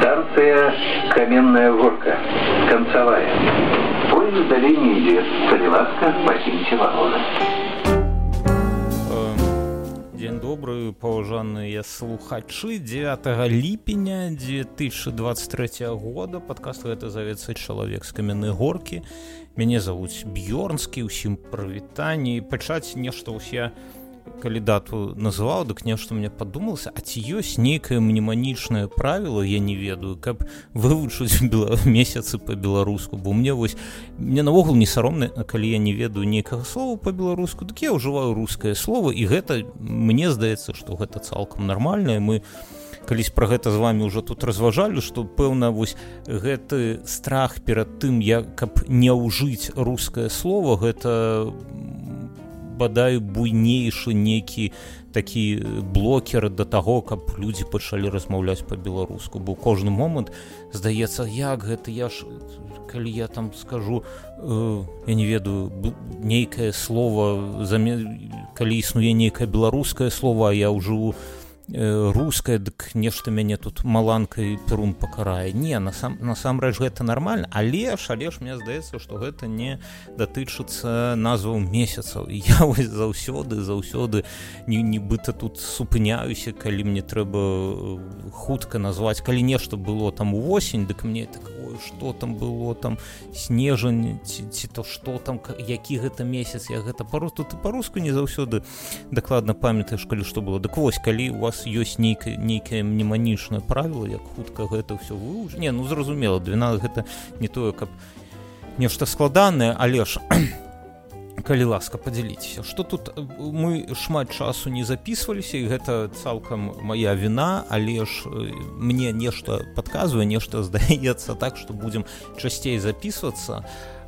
Станция Каменная Горка. Концевая. Поезд далее не идет. Калиласка, покиньте вагоны. Дзень добры, паважаныя слухачы. 9 ліпеня 2023 года. Падкаст гэта завецца «Чалавек з каменнай горкі». Мяне завуць Бьёрнскі, усім прывітанне. Пачаць нешта ўсе, калі дату называў, дык нешта мне падумалася, а ці ёсць нейкае мнеманічнае правіла, я не ведаю, каб вывучыць месяцы па-беларуску, бо мне навогул не саромна, калі я не ведаю нейкага слова па-беларуску, дык я ўжываю рускае слово, і гэта, мне здаецца, што гэта цалкам нармальна. Мы калісь пра гэта з вамі ўжо тут разважалі, што, пэўна, гэты страх перад тым, каб не ўжыць рускае слово, гэта бадай буйнейшы нейкі такі блокер да таго, каб людзі пачалі размаўляць па-беларуску, бо кожны момант здаецца, як гэта, калі я там скажу, я не ведаю, нейкае слово, калі існуе нейкае беларускае слово, а я ўжыву рускае, дык нешта мяне тут маланкай перун пакарае. Не, насамрэч гэта нармальна, але ж мне здаецца, што гэта не датычыцца назваў месяцаў. І я заўсёды нібыта тут супыняюся, калі мне трэба хутка назваць, калі нешта было там увосень, дык мне так, ой, што там было, там снежань, ці то што там, які гэта месяц, я гэта па-руску не заўсёды дакладна памятаеш, калі што было. Дык вось, калі у вас ёсць нейкае мнеманічнае правіла, як хутка гэта ўсё вывучыць. Не, зразумела, 12 гэта не тое, каб нешта складанае, але ж калі ласка, падзяліцеся. Што тут мы шмат часу не запісваліся, і гэта цалкам мая віна, але ж мне нешта падказвае, нешта здаецца так, што будзем часцей запісвацца.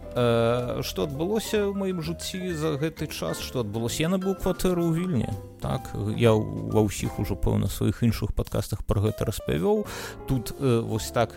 Што адбылося ў маім жыцці за гэты час, што адбылося? Я набыў кватэру ў Вільні. Так, я ва ўсіх ужо, пэўна, сваіх іншых падкастах пра гэта распавёў. Тут вось так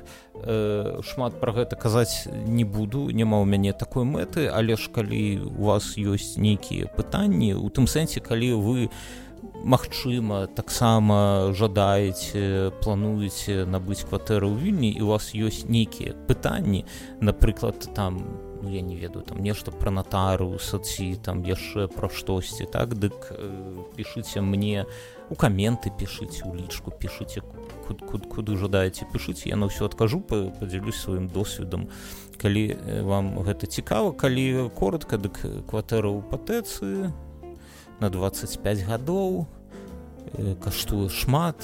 шмат пра гэта казаць не буду, няма ў мяне такой мэты, але ж калі у вас ёсць нейкія пытанні, у тым сэнсе, калі вы, магчыма, таксама жадаеце, плануеце набыць кватэру ў Вільні, і у вас ёсць нейкія пытанні, напрыклад, там, я не ведаю, там нешта пра натарыуса, ці там яшчэ пра штосьці, так, дык пішыце мне у каменты, пішыце ў лічку, пішыце куды жадаеце, пішыце, я на ўсё адкажу, падзялюсь сваім досведам, калі вам гэта цікава. Калі коротка, дык кватэра ў Патэцы на 25 гадоў, каштуе шмат,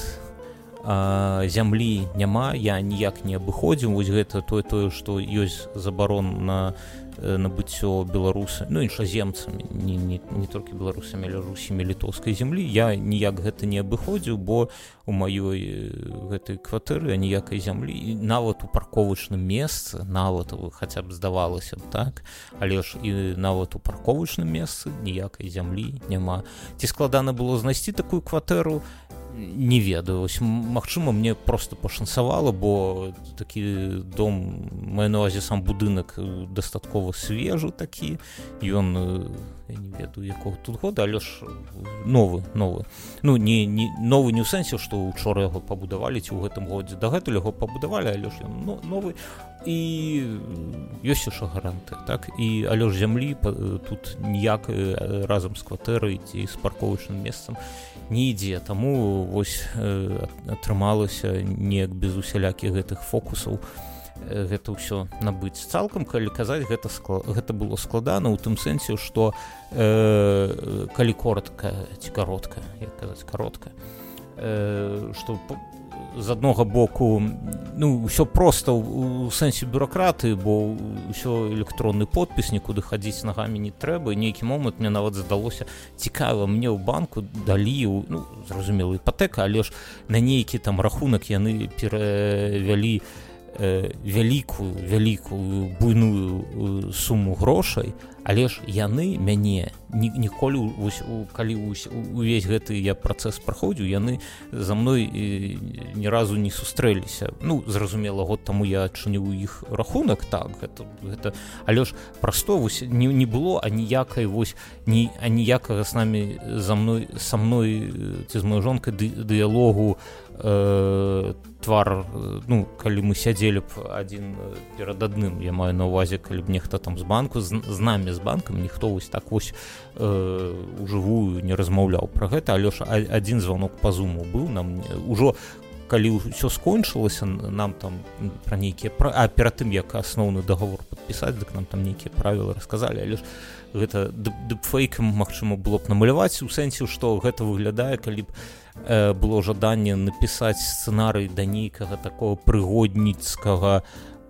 зямлі няма, я ніяк не абыходзіў. Вось гэта тое, што ёсць забарон на набыццё беларусамі, іншаземцамі, не толькі беларусамі, але усімі літоўскай зямлі. Я ніяк гэта не абыходзіў, бо у маёй гэтай кватэры ніякай зямлі, і нават у парковачным месцы, нават, хаця б здавалася б так, але ж і нават у парковачным месцы ніякай зямлі няма. Ці складана было знайсці такую кватэру? Не ведаю. Магчыма, мне просто пашанцавала, бо такі дом, маю на ўвазе сам будынак дастаткова свежы такі, ён, я не ведаю, якога тут года, але ж новы. Не новы не ў сэнсе, што учора яго пабудавалі, ці ў гэтым годзе дагэтуль яго пабудавалі, але ж ён новы, і ёсць яшчэ гаранты, так, і але ж зямлі тут ніяк разам з кватэрай ці з парковачным месцам не ідзе, таму вось атрымалася неяк без усялякіх гэтых фокусаў гэта ўсё набыць. Цалкам, калі казаць, гэта было складана ў тым сэнсе, што калі коротка ці каротка, як казаць, каротка, што з аднога боку, ўсё проста ў сэнсе бюракратыі, бо ўсё электронны подпіс, нікуды хадзіць нагамі не трэба, і нейкі момант мне нават здалося цікава, мне ў банку далі, зразумела, іпатэка, але ж на нейкі там рахунак яны перавялі вялікую буйную суму грошай, але ж яны мяне ніколі калі увесь гэты я працэс праходзіў, яны за мной ні разу не сустрэліся. Ну, зразумела, год таму я адчыніў іх рахунак, так, гэта але ж прасто не было аніякай аніякага са мной ці з маёй жонкай дыялогу твар, ну, калі мы сядзелі б адзін перад адным, я маю на ўвазе, калі б нехта там з банку, з намі, з банкам, ніхто вось так вось ужывую не размаўляў пра гэта, але ж адзін званок па зуму быў, нам ужо калі ўсё скончылася, нам там пра нейкія перад тым, як асноўны дагавор падпісаць, дык нам там нейкія правілы расказалі, але ж гэта дыпфейкам магчыма было б намаляваць, у сэнсе, што гэта выглядае, калі б было жаданне напісаць сцэнарый да нейкага такого прыгодніцкага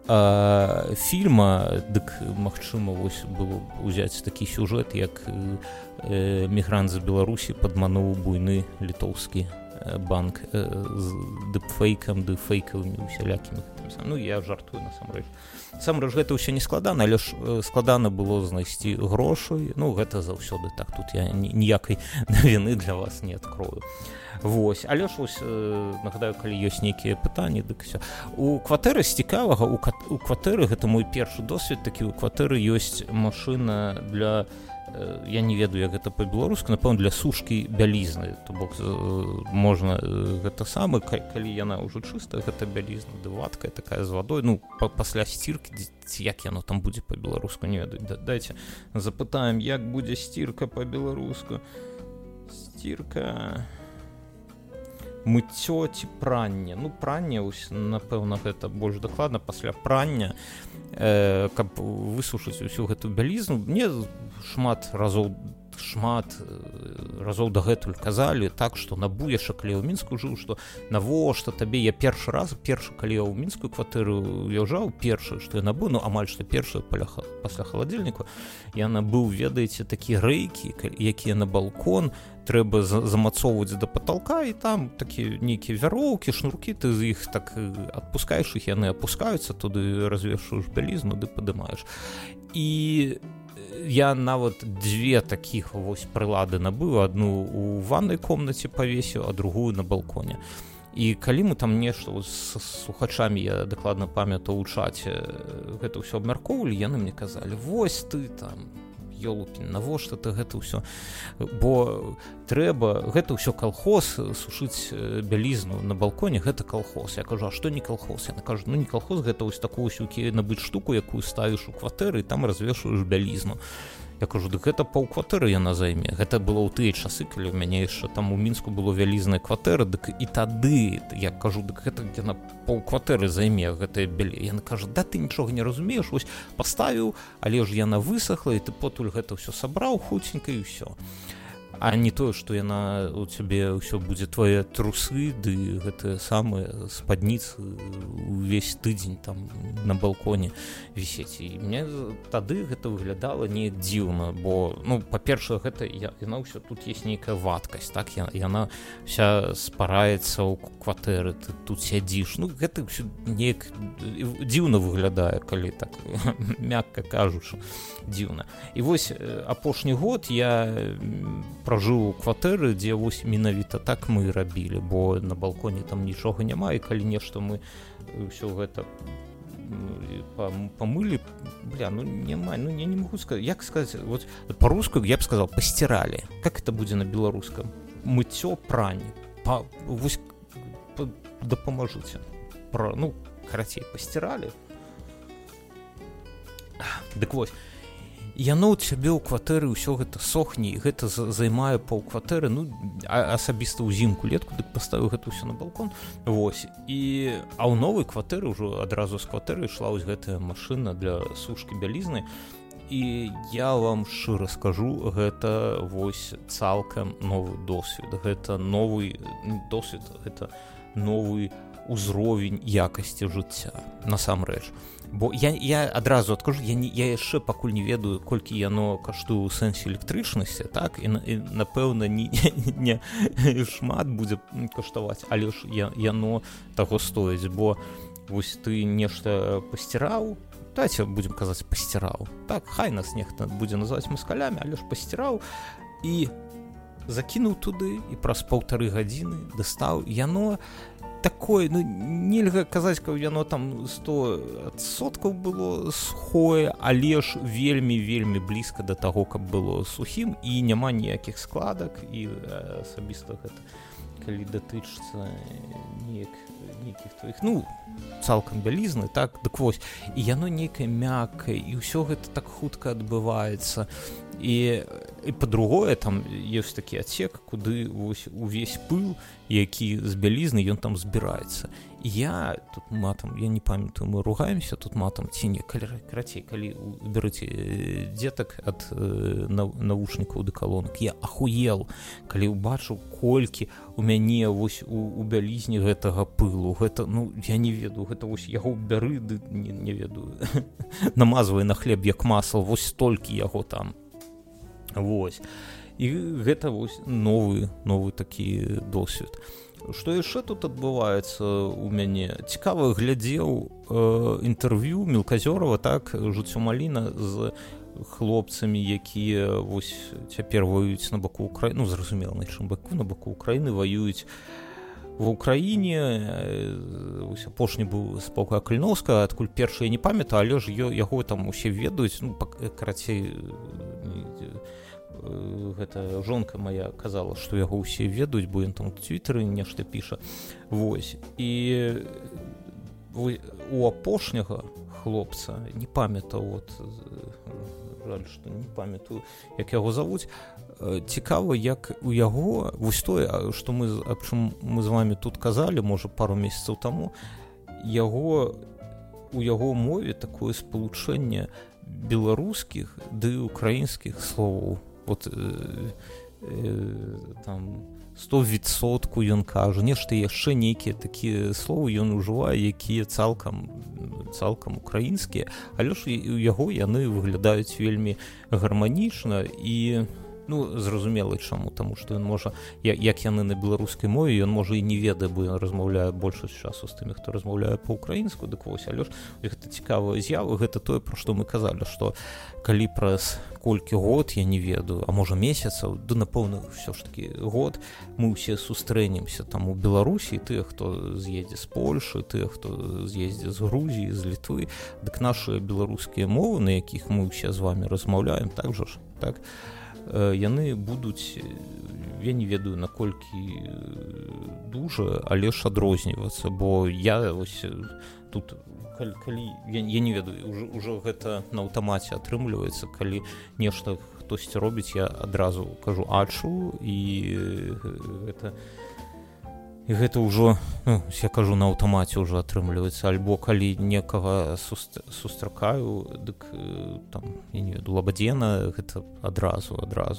фільма, дык магчыма вось было ўзяць такі сюжэт, як мігрант з Беларусі падмануў буйны літоўскі банк з дыпфейкавымі усялякімі. Ну, я жартую, насамрэч гэта ўсё не складана, але ж складана было знайсці грошы. Ну, гэта заўсёды так, тут я ніякай навіны для вас не адкрою. Вось, але ж вось нагадаю, калі ёсць нейкія пытанні, дык усё. У кватэры з цікавага, у кватэры, гэта мой першы досвед такі, у кватэры ёсць машына для, я не ведаю, як гэта па-беларуску, напэўна, для сушкі бялізны, то бок можна гэта самы, калі яна ўжо чыстая, гэта бялізна, ды вадкая такая з вадой, ну, пасля сціркі, ці як яно там будзе па-беларуску, не ведаю, дайце запытаем, як будзе сцірка па-беларуску. Стірка... мыццё ці пранне. Ну, пранне, напэўна, гэта больш дакладна, пасля прання, каб высушыць усю гэту бялізну. Мне шмат разоў дагэтуль казалі так, што на Буяша, калі я ў Мінску жыў, што навошта табе, я першы, калі я ў мінскую кватэру уязджаў, першы, што я набыў, ну, амаль што першы пасля халадзільніку, я набыў, ведаеце, такі рэйкі, якія на балкон трэба замацоўваць да паталка, і там такі нейкія вяроўкі, шнуркі, ты з іх так адпускаеш іх, яны апускаюцца, туды развешваеш бялізну, ды падымаеш. І я нават дзве такіх вось прылады набыў, адну у ваннай комнаце павесіў, а другую на балконе. І калі мы там нешта з слухачамі, я дакладна памятаю у чаце, гэта ўсё абмяркоўвалі, яны мне казалі, вось ты там, ёлупін, навошта ты гэта ўсё, бо трэба, гэта ўсё калхоз, сушыць бялізну на балконе, гэта калхоз. Я кажу, а што не калхоз? Яна кажу, ну не калхоз, гэта вось такую набыць штуку, якую ставіш у кватэры, і там развешваеш бялізну. Я кажу, дык гэта паўкватэры яна займе. Гэта было ў тыя часы, калі ў мяне яшчэ там у Мінску было вялізная кватэра, дык і тады, я кажу, дык гэта яна паўкватэры займе, гэтая бялі. Яна кажа, да ты нічога не разумееш, вось паставіў, але ж яна высохла, і ты потуль гэта ўсё сабраў хуценька і ўсё. А не тое, што яна у цябе ўсё будзе твае трусы, ды гэтыя самыя спадніцы увесь тыдзень там на балконе вісець. І мне тады гэта выглядала неяк дзіўна, бо, ну, па-першае, гэта яна ўсё, тут ёсць нейкая вадкасць, так, яна вся спараецца ў кватэры, ты тут сядзіш, ну, гэта ўсё неяк дзіўна выглядае, калі так, мякка кажучы, дзіўна. І вось апошні год я пражыў у кватэры, дзе вось менавіта так мы рабілі, бо на балконе там нічога няма, і калі нешта мы ўсё гэта памылі, ну няма, ну я не могу сказаць, як сказаць, вот по-руску я б сказал, пастирали. Как это будзе на беларускам? Мыццё, прань. Вось дапамажыце. Ну, карацей, пастирали. Дык вось, яно ў цябе ў кватэры ўсё гэта сохне, і гэта займае паўкватэры, ну, асабіста ўзімку, летку, дык паставіў гэта ўсё на балкон, вось, а ў новай кватэры ўжо адразу з кватэры ішла вось гэтая машына для сушкі бялізны, і я вам шчыра скажу, гэта вось цалкам новы досвед, гэта новы досвед, гэта новы узровень якасці жыцця, насамрэч. Бо я адразу адкажу, я яшчэ пакуль не ведаю, колькі яно каштуе ў сэнсе электрычнасці, так, і напэўна, не шмат будзе каштаваць, але ж яно таго стоіць, бо вось ты нешта пасціраў, давайте будзем казаць пасціраў. Так, хай нас нехта будзе называць маскалямі, але ж пасціраў і закінуў туды і праз 1,5 гадзіны дастаў. Яно такое, ну, нельга казаць, каб яно там 100% было сухое, але ж вельмі блізка да таго, каб было сухім, і няма ніякіх складак, і асабіста гэта, калі датычыцца нейкіх твоіх, ну, цалкам бялізны, так, дык вось, і яно нейкае мяккае, і ўсё гэта так хутка адбываецца, і па-другое, там ёсць такі адсек, куды увесь пыл, які з бялізны, ён там збіраецца. І я тут матам, я не памятаю, мы ругаемся тут матам, ці не, карацей, калі берыце дзетак ад навушнікаў ды калонак, я ахуел, калі ўбачыў, колькі у мяне вось у бялізні гэтага пылу, гэта, ну, я не ведаю, гэта вось яго бяры, ды не ведаю, намазвай на хлеб як масла, вось столькі яго там. Вось. І гэта вось новы такі досвед. Што яшчэ тут адбываецца у мяне? Цікава глядзеў інтэрв'ю Мелказёрава, так, жыццё Маліна з хлопцамі, якія вось цяпер ваююць на баку Украіны, ну, зразумела, на чым баку, на баку Украіны ваююць ва Ўкраіне. Апошні быў з полка Каліноўскага, адкуль першы я не памятаю, але ж яго там усе ведаюць, ну, карацей, гэта жонка моя казала, што яго ўсе ведаюць, бо ён там у Твіттары нешта піша. Вось. І у апошняга хлопца, не памятаю, от, жаль, што не памятаю, як яго завуць, цікава, як у яго, вось тое, што аб чым мы з вамі тут казалі, можа, пару месяцаў таму, у яго мове такое спалучэнне беларускіх ды украінскіх словаў. Вот там 100% ён кажа, нешта яшчэ нейкія такія словы ён ужывае, якія цалкам украінскія, але ж у яго яны выглядаюць вельмі гарманічна і, ну, зразумела чаму, таму што ён можа, як яны на беларускай мове, ён можа і не ведае, бо ён размаўляе большасць часу з тымі, хто размаўляе па-украінску, дык вось, але ж гэта цікавая з'ява, гэта тое, пра што мы казалі, што калі праз колькі год, я не ведаю, а можа месяцаў, да, напэўна, ўсё ж такі год, мы ўсе сустрэнемся там у Беларусі, тыя, хто з'едзе з Польшы, тыя, хто з'едзе з Грузіі, з Літвы, дык нашыя беларускія мовы, на якіх мы ўсе з вамі размаўляем, так жа ж, так, яны будуць, я не ведаю, наколькі дужа, але ж адрознівацца, бо я вось тут, калі я не ведаю, ўжо гэта на аўтамаце атрымліваецца, калі нешта хтосьці робіць, я адразу кажу ачу, і гэта ўжо, ну, я кажу, на аўтамаце ўжо атрымліваецца, альбо калі некага сустракаю, дык там, я не ведаю, лабадзена, гэта адразу.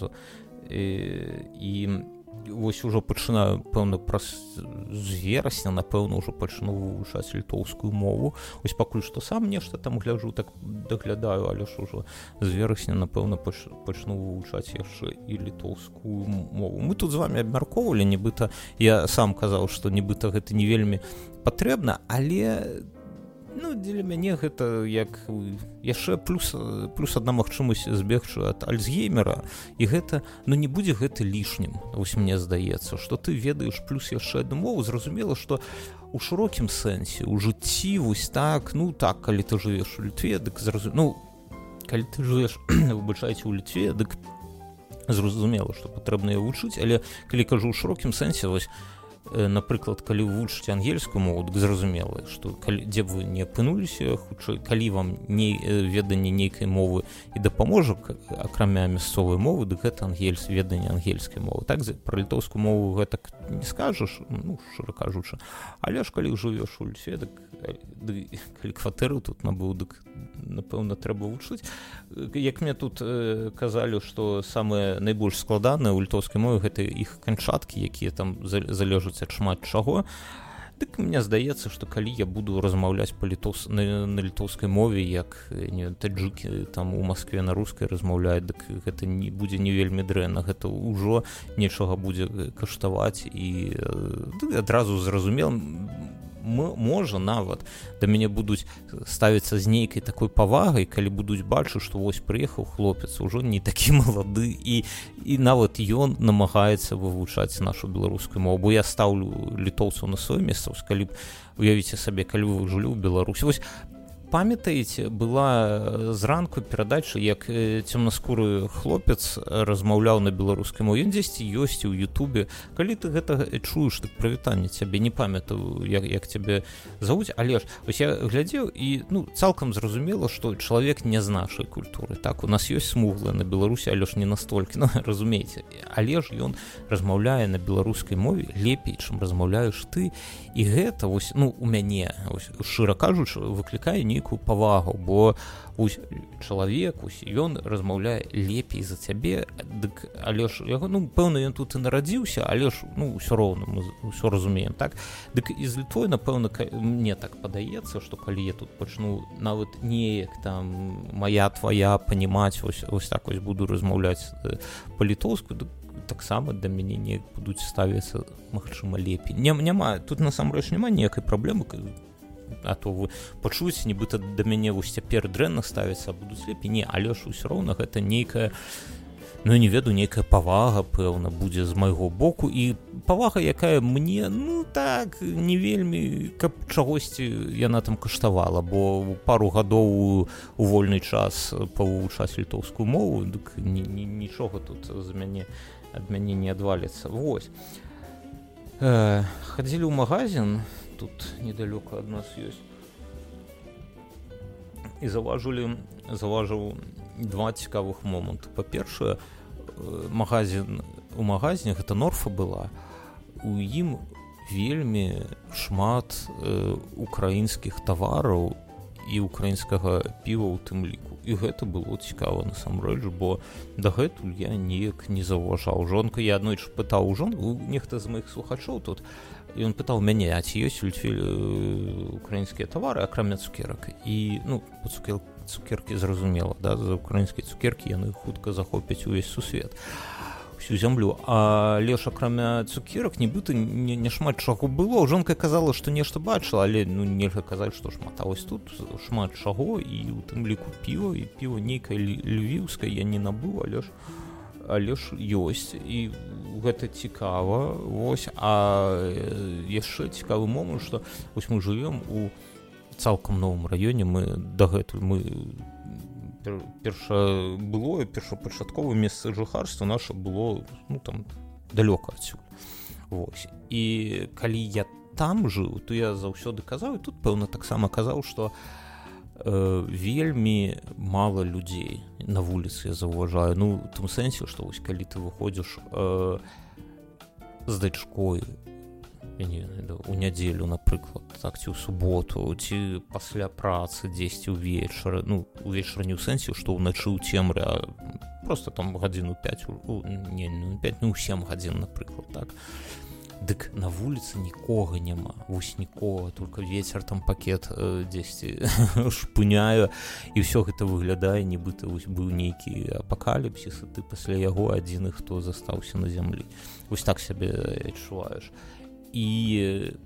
І вось ужо пачынаю, пэўна, з верасня, напэўна, ўжо пачну вывучаць літоўскую мову. Вось пакуль што сам нешта там гляджу, так даглядаю, але ж ужо з верасня, напэўна, пачну вывучаць яшчэ і літоўскую мову. Мы тут з вамі абмяркоўвалі, нібыта, я сам казаў, што нібыта гэта не вельмі патрэбна, але, ну, дзеля мяне гэта як яшчэ плюс адна магчымасць збегчы ад Альцгеймера, і гэта, ну, не будзе гэта лішнім, вось мне здаецца, што ты ведаеш плюс яшчэ адну мову, зразумела, што у шырокім сэнсе, у жыцці, вось так, ну, так, калі ты жывеш у Літве, дык зразумела, ну, калі ты жывеш, выбачайце, у Літве, дык зразумела, што патрэбна яе вучыць, але калі кажу ў шырокім сэнсе, вось, напрыклад, калі вы вучыце ангельскую мову, дык зразумела, што дзе б вы не апынуліся, хутчэй, калі вам веданне нейкай мовы і дапаможа, акрамя мясцовай мовы, дык гэта веданне ангельскай мовы. Так, пра літоўскую мову гэтак не скажаш, ну, шчыра кажучы, але ж калі жывеш у Літве, дык калі кватэру тут набыў, дык, напэўна, трэба вучыць. Як мне тут казалі, што самае найбольш складанае ў літоўскай мове гэта іх канчаткі, якія там залежаць ад шмат чаго. Дык мне здаецца, што калі я буду размаўляць на літоўскай мове, як таджыкі там у Маскве на рускай размаўляюць, дык гэта не будзе не вельмі дрэнна, гэта ўжо нечага будзе каштаваць, і адразу зразумела, можа нават да мяне будуць ставіцца з нейкай такой павагай, калі будуць бачыць, што вось прыехаў хлопец ужо не такі малады і нават ён намагаецца вывучаць нашу беларускую мову, бо я стаўлю літоўцаў на сваё месца, калі б уявіце сабе, калі вы жылі ў Беларусі. Вось памятаеце, была зранку перадача, як цёмнаскуры хлопец размаўляў на беларускай мове. Ён дзесьці ёсць у Ютубе. Калі ты гэта чуеш, так прывітанне цябе, не памятаю, як цябе завуць, але ж вось я глядзеў і цалкам зразумела, што чалавек не з нашай культуры. Так, у нас ёсць смуглыя на Беларусі, але ж не настолькі, разумееце. Але ж ён размаўляе на беларускай мове лепей, чым размаўляеш ты. І гэта вось, у мяне, шчыра кажучы, выклікае нейкую павагу, бо чалавек, ён размаўляе лепей за цябе, дык, але ж яго, пэўна, ён тут і нарадзіўся, але ж, ўсё роўна, мы ўсё разумеем, так? Дык і з Літвой, напэўна, мне так падаецца, што калі я тут пачну нават неяк там моя, твоя, панімаць, ось так вось буду размаўляць па-літоўску, дык таксама да мяне неяк будуць ставіцца, магчыма, лепей. Няма, тут насамрэч няма ніякай праблемы, а то вы пачуеце, нібыта да мяне вось цяпер дрэнна ставіцца, а будуць лепей. Не, але ж усё роўна гэта нейкая, не ведаю, нейкая павага, пэўна, будзе з майго боку, і павага, якая мне, так, не вельмі, каб чагосьці яна там каштавала, бо пару гадоў у вольны час павывучаць літоўскую мову, дык нічога тут ад мяне не адваліцца. Вось. Хадзілі ў магазин, тут недалёка ад нас ёсць, і заўважыў два цікавых моманты. Па-першае, у магазине, гэта Норфа была, у ім вельмі шмат украінскіх тавараў і украінскага піва ў тым ліку. І гэта было цікава насамрэч, бо дагэтуль я неяк не заўважаў. Жонка, я аднойчы пытаў жонку, нехта з маіх слухачоў тут, і ён пытаў мяне, а ці ёсць у Літве украінскія тавары, акрамя цукерак. І, цукеркі зразумела, да, за украінскія цукеркі яны хутка захопяць увесь сусвет, всю зямлю. Але ж акрамя цукерак нібыта не шмат чаго было. Жонка казала, што нешта бачыла, але нельга казаць, што шмат. А вось тут шмат чаго, і у тым ліку піва, і піва нейкае львіўскае я не набыў, але ж ёсць, і гэта цікава. Вось, а яшчэ цікавы момант, што вось мы жывём у цалкам новым раёне, мы дагэтуль першапачатковае месца жыхарства наша было там далёка адсюль. Вось. І калі я там жыў, то я заўсёды казаў, і тут пэўна таксама казаў, што вельмі мала людзей на вуліцы я заўважаю. У тым сэнсе, што вось калі ты выходзіш з дачкой у нядзелю, напрыклад, так, ці ў суботу, ці пасля працы дзесьці ўвечары, увечары не ў сэнсе, што ўначы ў цемры, а просто там гадзіну 5, не 5, 7 гадзін, напрыклад, так. Дык на вуліцы нікога няма, вось нікога, только вецер там пакет дзесьці шпыняе, і ўсё гэта выглядае, нібыта вось быў нейкі апакаліпсіс, і ты пасля яго адзіны, хто застаўся на зямлі. Вось так сябе адчуваеш. І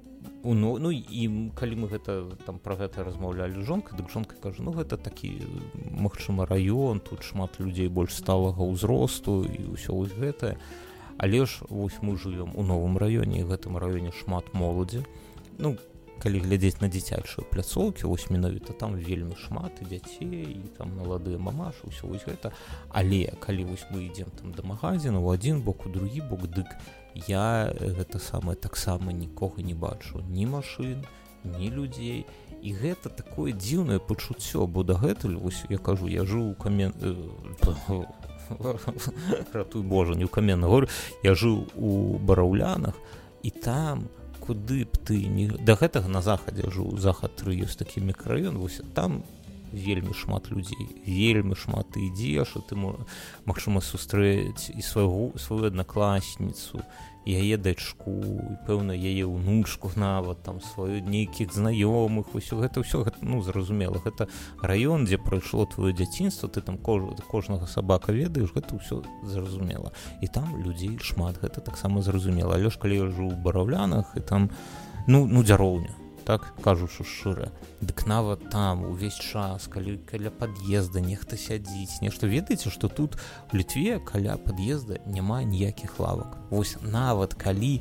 калі мы пра гэта размаўлялі з жонкай, дык жонка кажа, гэта такі, магчыма, раён, тут шмат людзей больш сталага ўзросту і ўсё вось гэтае. Але ж вось мы жывём у новым раёне, і в гэтым раёне шмат моладзі. Калі глядзець на дзіцячыя пляцоўкі, вось менавіта там вельмі шмат і дзяцей, і там маладыя мамашы, ўсё вось гэта. Але калі вось мы ідзем там да магазіна, у адзін бок, у другі бок, дык я гэта самае таксама нікога не бачу, ні машын, ні людзей. І гэта такое дзіўнае пачуццё, бо дагэтуль, вось я кажу, я жыў у ратуй Божа, не ў Каменнай Горы, я жыў у Бараўлянах, і там, куды б ты да гэтага на захадзе жыў, захад 3 ёсць такі мікрараён, вось там вельмі шмат людзей, вельмі шмат, ты ідзеш, і ты, магчыма, сустрэць і сваю аднакласніцу, яе дачку, і, пэўна, яе ўнучку нават, там, сваю нейкіх знаёмых, усё гэта, зразумела, гэта раён, дзе прайшло твоё дзяцінства, ты там кожнага сабака ведаеш, гэта ўсё зразумела. І там людзей шмат, гэта таксама зразумела. Але ж калі я жыў у Бараўлянах, і там ну дзяроўня, так кажучы шчыра. Дык нават там увесь час, калі каля пад'езда нехта сядзіць, нешта, ведаеце, што тут у Літве каля пад'езда няма ніякіх лавак. Вось нават калі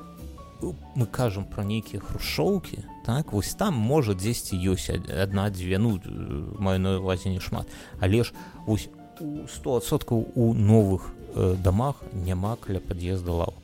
мы кажам пра нейкія хрушчоўкі, так, вось там можа дзесьці ёсць адна-дзве, ну маю на ўвазе не шмат, але ж вось у 100% у новых дамах няма каля пад'езда лавак.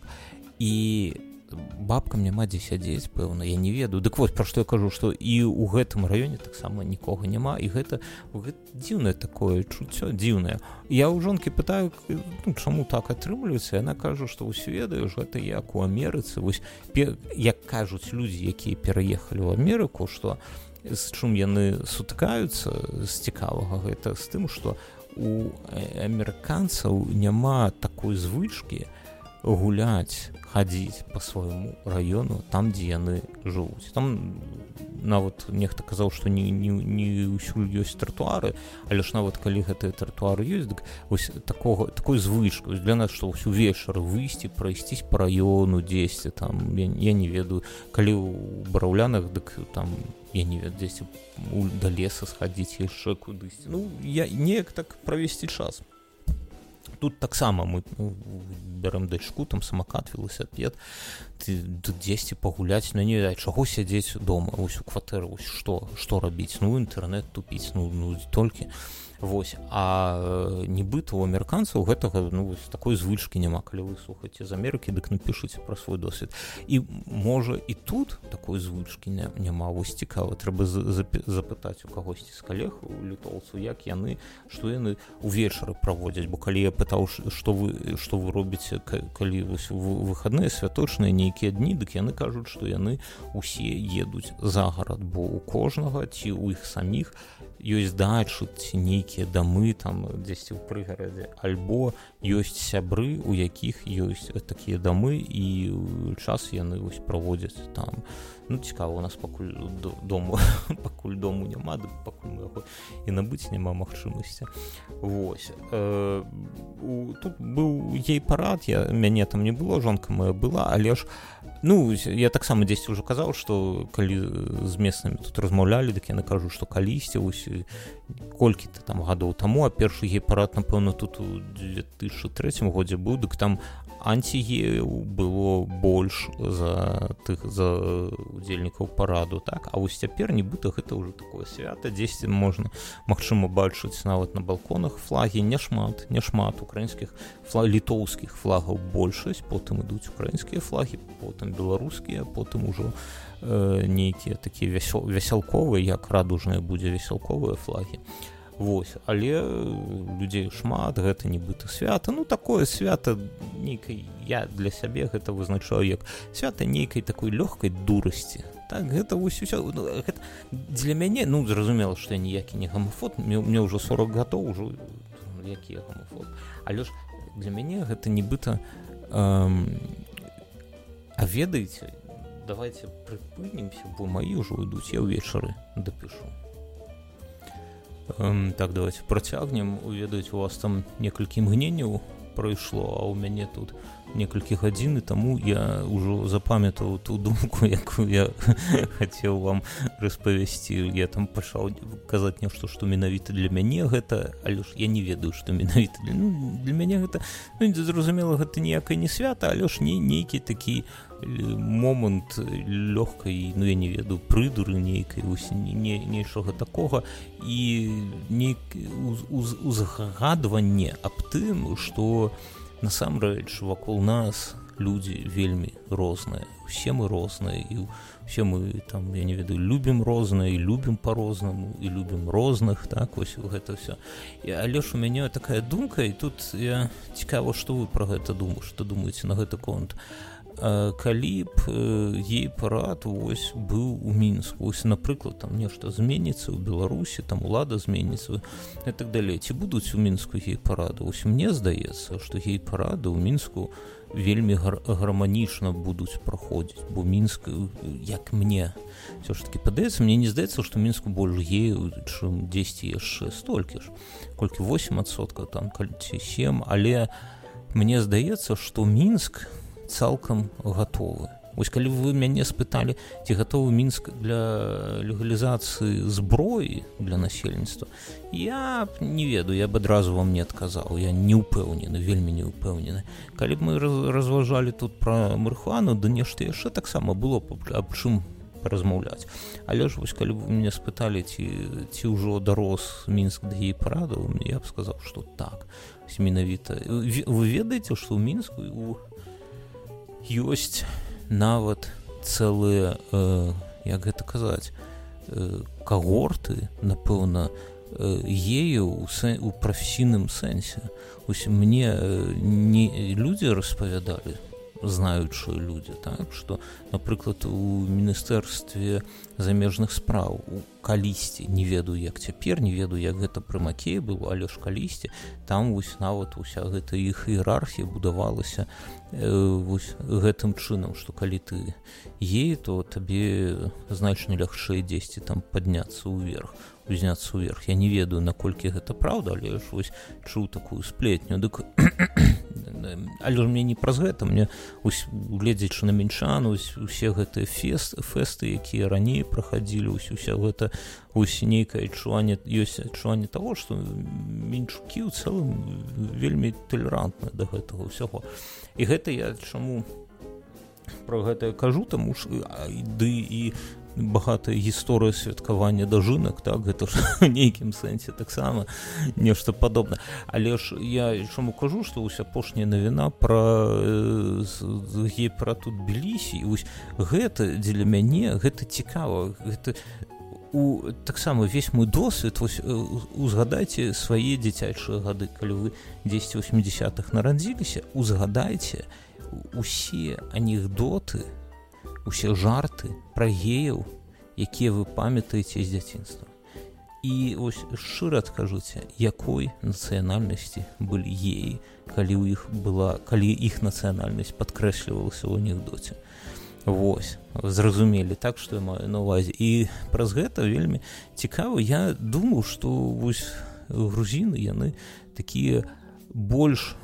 І бабкам няма дзе сядзець, пэўна, я не ведаю. Дык вось, пра што я кажу, што і ў гэтым раёне таксама нікога няма, і гэта дзіўнае такое чуццё, дзіўнае. Я ў жонкі пытаю, ну, чаму так атрымліваецца, яна кажа, што ўсё ведаеш, гэта як у Амерыцы. Вось, як кажуць людзі, якія пераехалі ў Амерыку, што з чым яны сутыкаюцца з цікавага, гэта з тым, што у амерыканцаў няма такой звычкі гуляць, хадзіць па свайму раёну там, дзе яны жывуць. Там нават нехта казаў, што не ўсюль ёсць тратуары, але ж нават калі гэтыя тратуары ёсць, дык вось такой звычкай для нас, што ўсё вечар выйсці, прайсцісь па раёну дзесьці там, я не ведаю, калі ў Бараўлянах, дык там я не ведаю, дзесьці да леса схадзіць яшчэ кудысьці. Ну, я неяк так правесці час. Тут таксама мы бярем дачку, там самакат, велосипед, тут дзесьці пагуляць, ну не ведаю, чаго сядзець дома, вось у кватэры, вось што рабіць, ну інтэрнэт тупіць, ну толькі. Вось, а нібыта у амерыканцаў гэтага, ну, вось такой звычкі няма. Калі вы слухаеце з Амерыкі, дык напішыце пра свой досвед. І можа і тут такой звычкі няма. Вось цікава, трэба запытаць у кагосьці з калег, у літоўцаў, як яны, што яны увечары праводзяць. Бо калі я пытаў, што вы робіце, калі вось выхадныя святочныя нейкія дні, дык яны кажуць, што яны усе едуць за гарад, бо у кожнага ці ў іх саміх ёсць дачы ці нейкія дамы там дзесьці ў прыгарадзе, альбо ёсць сябры, у якіх ёсць такія дамы, і час яны вось праводзяць там. Ну, цікава, у нас пакуль дому няма, пакуль мы яго і набыць няма магчымасці. Вось. Тут быў гей-парад, мяне там не было, жонка моя была, але ж, ну, я таксама дзесьці ўжо казаў, што калі з месцамі тут размаўлялі, дык яны кажуць, што калісьці, вось, колькі-то там гадоў таму, а першы гей-парад, напэўна, тут у 2003 годзе быў, дык там антигеяў было больш за удзельнікаў параду, так? А вось цяпер нібыта гэта ўжо такое свята, дзесьці можна, магчыма, бачыць нават на балконах флагі, няшмат украінскіх літоўскіх флагаў большасць, потым ідуць украінскія флагі, потым беларускія, потым ужо нейкія такія весялковыя, як радужныя будзе весялковыя флагі. Вось, але людзей шмат, гэта нібыта свята, ну такое свята нейкай, я для сябе гэта вызначаю як свята нейкай такой лёгкай дурасці. Так, гэта вось усё, ну, гэта для мяне, ну, зразумела, што я ніякі не гомафоб, мне ўжо 40 гадоў, ўжо які я гомафоб, але ж для мяне гэта нібыта, а ведаеце, давайте прыпынемся, бо маі ўжо ідуць, я ўвечары дапішу. Так, давайте працягнем. Ведаеце, у вас там некалькі імгненняў прайшло, а ў мяне тут некалькі гадзін, і таму я ўжо запамятаў ту думку, якую я хацеў вам распавесці. Я там пачаў казаць нешта, што менавіта для мяне гэта, але ж я не ведаю, што менавіта для мяне гэта, ну, зразумела, гэта ніякае не свята, але ж нейкі такі момант лёгкай, ну, я не ведаю, прыдуры нейкай, нейчага такога, і узгадванне аб тым, што насамрэч вакол нас людзі вельмі розныя, усе мы розныя, і усе мы там, я не ведаю, любім рознае, і любім па-рознаму, і любім розных, так, вось гэта ўсё. Але ж у мяне такая думка, і тут я цікава, што вы пра гэта думаеце, што думаеце на гэты конт. Калі б гей-парад вось быў у Мінску, вось, напрыклад, там нешта зменіцца ў Беларусі, там улада зменіцца і так далей, ці будуць у Мінску гей-парады? Вось мне здаецца, што гей-парады ў Мінску вельмі гарманічна будуць праходзіць, бо Мінск, як мне ўсё ж такі падаецца, мне не здаецца, што Мінску больш геяў, чым дзесьці яшчэ столькі ж, колькі 8%, там, ці 7%, але мне здаецца, што Мінск цалкам гатовы. Вось калі вы мяне спыталі, ці гатовы Мінск для легалізацыі зброі для насельніцтва, я не ведаю, я б адразу вам не адказаў, я не ўпэўнены, вельмі не ўпэўнены. Калі б мы разважалі тут пра марыхуану, да нешта яшчэ таксама было аб чым размаўляць. Але ж вось калі б мяне спыталі, ці ўжо дарос Мінск да гей-парадаў, я б сказаў, што так. Менавіта. Вы ведаеце, што ў Мінску ёсць нават цэлыя, як гэта казаць, кагорты, напэўна, геяў у прафесійным сэнсе. Вось мне людзі распавядалі, знаючыя людзі, так, што, напрыклад, у Міністэрстве замежных спраў калісьці, не ведаю, як цяпер, не ведаю, як гэта пры Макеі было, але ж калісьці, там вось нават уся гэта іх іерархія будавалася вось гэтым чынам, што калі ты гей, то табе значна лягчэй дзесьці там падняцца ўверх, узняцца ўверх. Я не ведаю, наколькі гэта праўда, але ж вось чуў такую сплетню. Дык але ж мне не праз гэта, мне гледзячы на мінчан, усе гэтыя фэсты, якія раней праходзілі, уся гэта нейкае адчуванне, ёсць адчуванне таго, што мінчукі ў цэлым вельмі талерантныя да гэтага ўсяго. І гэта я чаму пра гэта кажу, таму ж і багатая гісторыя святкавання дажынак, так, гэта ж у нейкім сэнсе таксама нешта падобна. Але ж я чаму кажу, што вось апошняя навіна пра гей-парад у Тбілісі, і вось гэта дзеля мяне, гэта цікава, гэта таксама весь мой досвед, вось узгадайце свае дзіцячыя гады, калі вы 10 80-х нарадзіліся, узгадайце усе анекдоты, усе жарты пра геяў, якія вы памятаеце з дзяцінства. І вось шчыра скажыце, якой нацыянальнасці былі геі, калі іх нацыянальнасць падкрэслівалася ў анекдоце. Вось, зразумелі, так, што я маю на ўвазе. І праз гэта вельмі цікава. Я думаю, што вось грузіны, яны такія больш,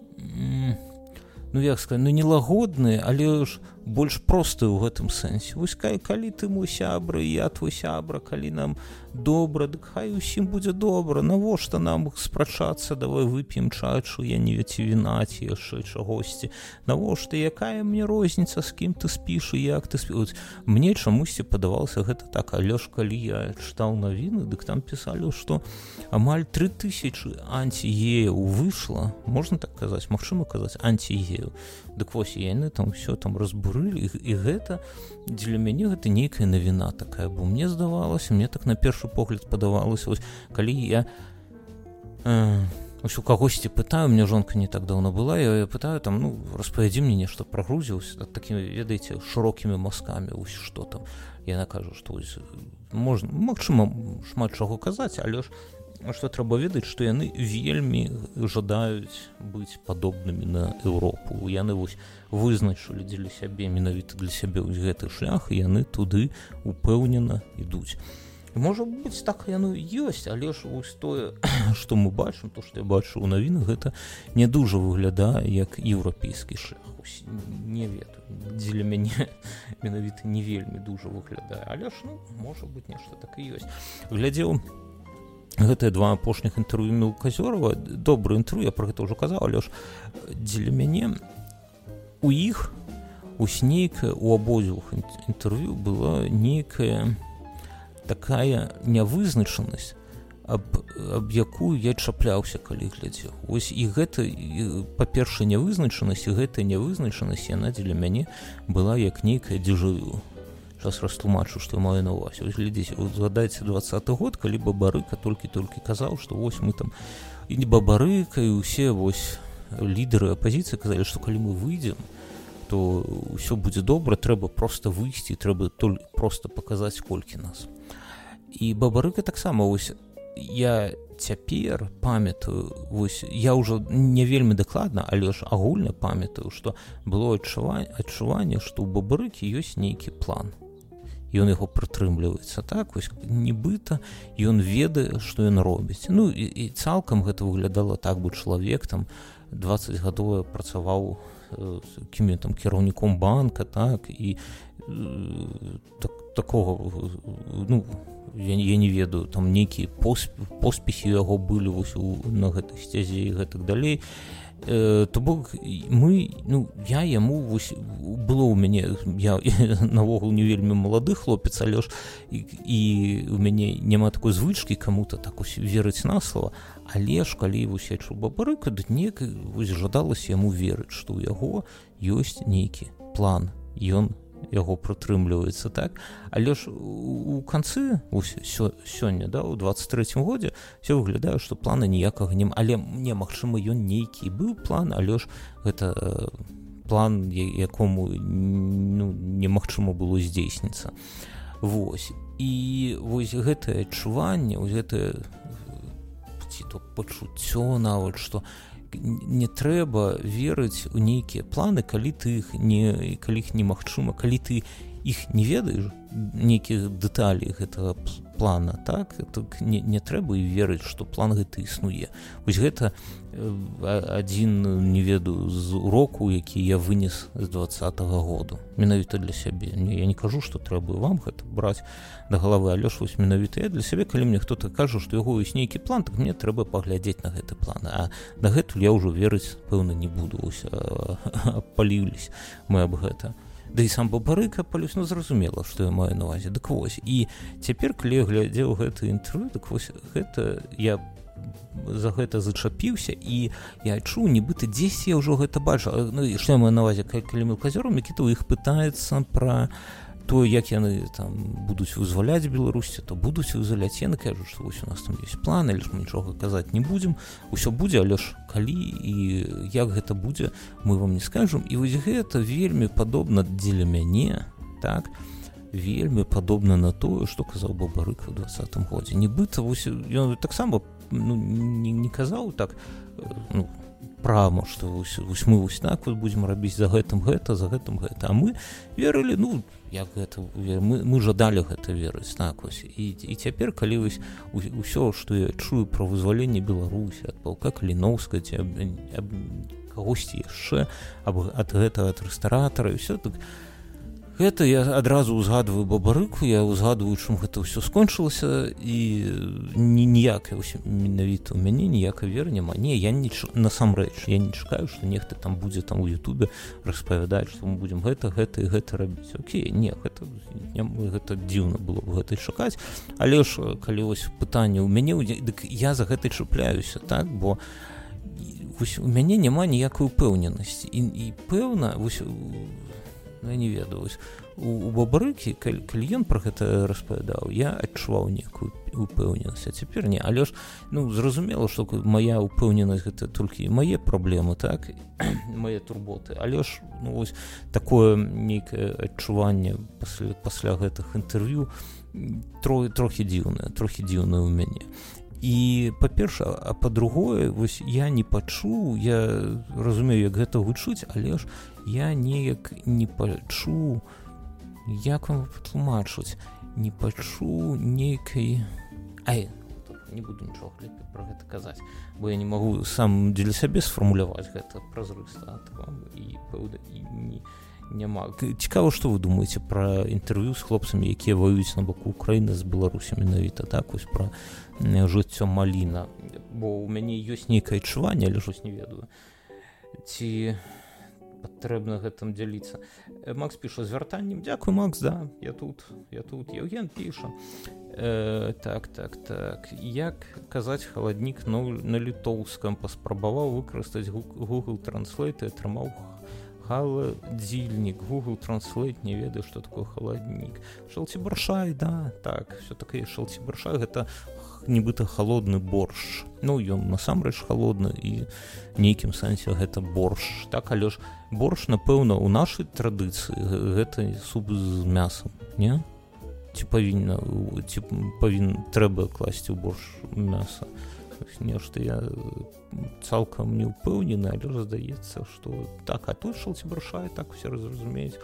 як сказаць, не лагодныя, але ж больш простыя ў гэтым сэнсе. Вось калі ты мой сябра, і я твой сябра, калі нам добра, дык хай усім будзе добра, навошта нам спрачацца, давай вып'ем чачу, я не ведаю, віна ці яшчэ чагосьці, навошта, якая мне розніца, з кім ты спіш і як ты спіш. Мне чамусьці падавалася гэта так, але ж калі я чытаў навіны, дык там пісалі, што амаль 3000 антигеяў выйшла, можна так казаць, магчыма казаць, антигеяў. Дык вось яны там все там разбурылі, і гэта для мяне гэта нейкая навіна такая, бо мне здавалася, мне так на першы погляд падавалася, вось калі я у кагосьці пытаю, мне жонка не так даўно была, я пытаю там, распавядзі мне нешта пра Грузію, такімі, ведаеце, шырокімі мазкамі, вось што там. Яна кажа, што вось можна, магчыма, шмат чаго казаць, але ж што трэба ведаць, што яны вельмі жадаюць быць падобнымі на Еўропу. Яны вось вызначылі дзеля сябе, менавіта для сябе гэты шлях, і яны туды упэўнена ідуць. Можа быць, так яно ёсць, але ж вось тое, што мы бачым, то, што я бачу ў навінах, гэта не дужа выглядае як еўрапейскі шлях. Не ведаю, дзеля мяне менавіта не вельмі дужа выглядае, але ж, можа быць, нешта так і ёсць. Глядзеў гэтыя два апошніх інтэрв'ю Мелказёрава, добры інтэрв'ю, я пра гэта ўжо казаў, але ж дзеля мяне у іх ось нейкая, у абодвух інтэрв'ю была нейкая такая нявызначанасць, аб якую я чапляўся, калі глядзеў. Ось і гэта, па-першае, нявызначанасць, і гэтая нявызначанасць, яна дзеля мяне была як нейкая дзежавю. Зараз растлумачу, што я маю на ўвазе. Вось глядзіце, згадайце 20-й год, калі Бабарыка толькі казаў, што вось мы там, і Бабарыка, і ўсе вось лідары апазіцыі казалі, што калі мы выйдзем, то ўсё будзе добра, трэба проста выйсці, трэба проста паказаць, колькі нас. І Бабарыка таксама, вось я цяпер памятаю, вось я ўжо не вельмі дакладна, але ж агульна памятаю, што было адчуванне, што ў Бабарыкі ёсць нейкі план. Ён яго прытрымліваецца, так, вось нібыта ён ведае, што ён робіць. І цалкам гэта выглядала так, бо чалавек там 20 гадоў працаваў кім там кіраўніком банка, так, і такого, ну, я не ведаю, там нейкія поспехі яго былі вось на гэтай сцязе і гэтак далей. То бок мы, ну, я яму вось, было ў мяне, я навогул не вельмі малады хлопец, але ж і у мяне няма такой звычкі каму-то так ось верыць на слова, але ж калі вось я чуў Бабарыка, то неяк вось жадалася яму верыць, што ў яго ёсць нейкі план, ён яго прытрымліваецца, так, але ж у канцы сёння, да, у 23-м годзе все выглядае, што плана ніякага няма, але не, магчыма, ён нейкі быў план, але ж гэта план, якому, ну, немагчыма было здзейсніцца. Вось, і вось гэтае адчуванне, вось гэтае ці то пачуццё нават, што не трэба верыць у нейкія планы, калі ты іх немагчыма, калі ты іх не ведаеш, нейкіх дэталей гэтага плана, так не трэба і верыць, што план гэты існуе. Вось гэта адзін, не ведаю, з урокаў, які я вынес з 20-го году, менавіта для сябе. Я не кажу, што трэба вам гэта браць да галавы, але ж вось менавіта я для сябе, калі мне хто-то кажа, што яго ёсць нейкі план, так мне трэба паглядзець на гэты план, а дагэтуль я ўжо верыць, пэўна, не буду, ось апалілись мы аб гэта. Да і сам Бабарыка палюсь, ну, зразумела, што я маю на увазе. Дык вось, і цяпер, калі я глядзеў гэта інтэрв'ю, дык вось гэта я за гэта зачапіўся, і я чуў, нібыта дзесь я ўжо гэта бачу. Ну, і што я маю на увазе, калі мелказёрам, які то іх пытаецца пра то, як яны там будуць вызваляць Беларусі, то будуць вызваляць. Яны кажуць, што вось у нас там ёсць план, але ж мы нічога казаць не будзем, усё будзе, але ж калі і як гэта будзе, мы вам не скажам. І вось гэта вельмі падобна дзеля мяне, так, вельмі падобна на тое, што казаў Бабарыка ў 20-м годзе. Нібыта вось ён таксама, ну, не казаў так, ну, прама, што вось мы вось так вот будзем рабіць за гэтым гэта, а мы верылі, ну, як гэта, мы жадалі гэта верыць, так вось. І цяпер, калі вось усё, што я чую пра вызваленне Беларусі ад палка Каліноўскага ці аб кагосьці яшчэ, ад гэтага, ад рэстаратара і ўсё, так гэта я адразу ўзгадваю Бабарыку, я ўзгадваю, чым гэта ўсё скончылася, і ніякай, менавіта ў мяне ніякай веры няма. Не, я насамрэч, я не чакаю, што нехта там будзе там у Ютубе распавядаць, што мы будзем гэта і гэта рабіць. Окей, не, гэта дзіўна было б гэта чакаць, але ж калі вось пытанне ў мяне, дык я за гэта чапляюся, так, бо вось у мяне няма ніякай упэўненасці, і пэўна, вось, я не ведаю, вось у Бабарыкі, калі ён пра гэта распавядаў, я адчуваў некую упэўненасць, а цяпер не, але ж, ну, зразумела, што мая упэўненасць гэта толькі мае праблемы, так, мае турботы, але ж, ну, вось такое нейкае адчуванне пасля гэтых інтэрв'ю трохі дзіўнае ў мяне. І, па-перша, а па-другое, вось я не пачуў, я разумею, як гэта гучыць, але ж я неяк не пачуў, як вам патлумачыць, не пачуў нейкай... не буду нічога лепей пра гэта казаць, бо я не магу сам дзеля сябе сфармуляваць гэта празрыста, і пэўна, і няма. Цікава, што вы думаеце пра інтэрв'ю з хлопцамі, якія ваююць на баку Украіны з Беларусі менавіта, так, вось пра жыццё Маліна, бо ў мяне ёсць нейкае адчуванне, але ж не ведаю, ці патрэбна гэтым дзяліцца. Макс піша з вяртаннем. Дзякуй, Макс, да, я тут. Евген піша. Так. Як казаць халаднік на літоўскам, паспрабаваў выкарыстаць Google Translate і атрымаў халадзільнік. Google Translate не ведаю, што такое халаднік. Шалцібаршай, да, так, все-таки шалцібаршай гэта нібыта халодны борщ. Ну, ён насамрэч халодны, і нейкім сэнсе гэта борщ. Так, але ж борщ, напэўна, у нашай традыцыі гэта суп з мясам, не? Ці трэба класці ў борщ мяса? Нешта я цалкам не ўпэўнены, але здаецца, што так, а тут шалцібаршай, так усе разумеюць.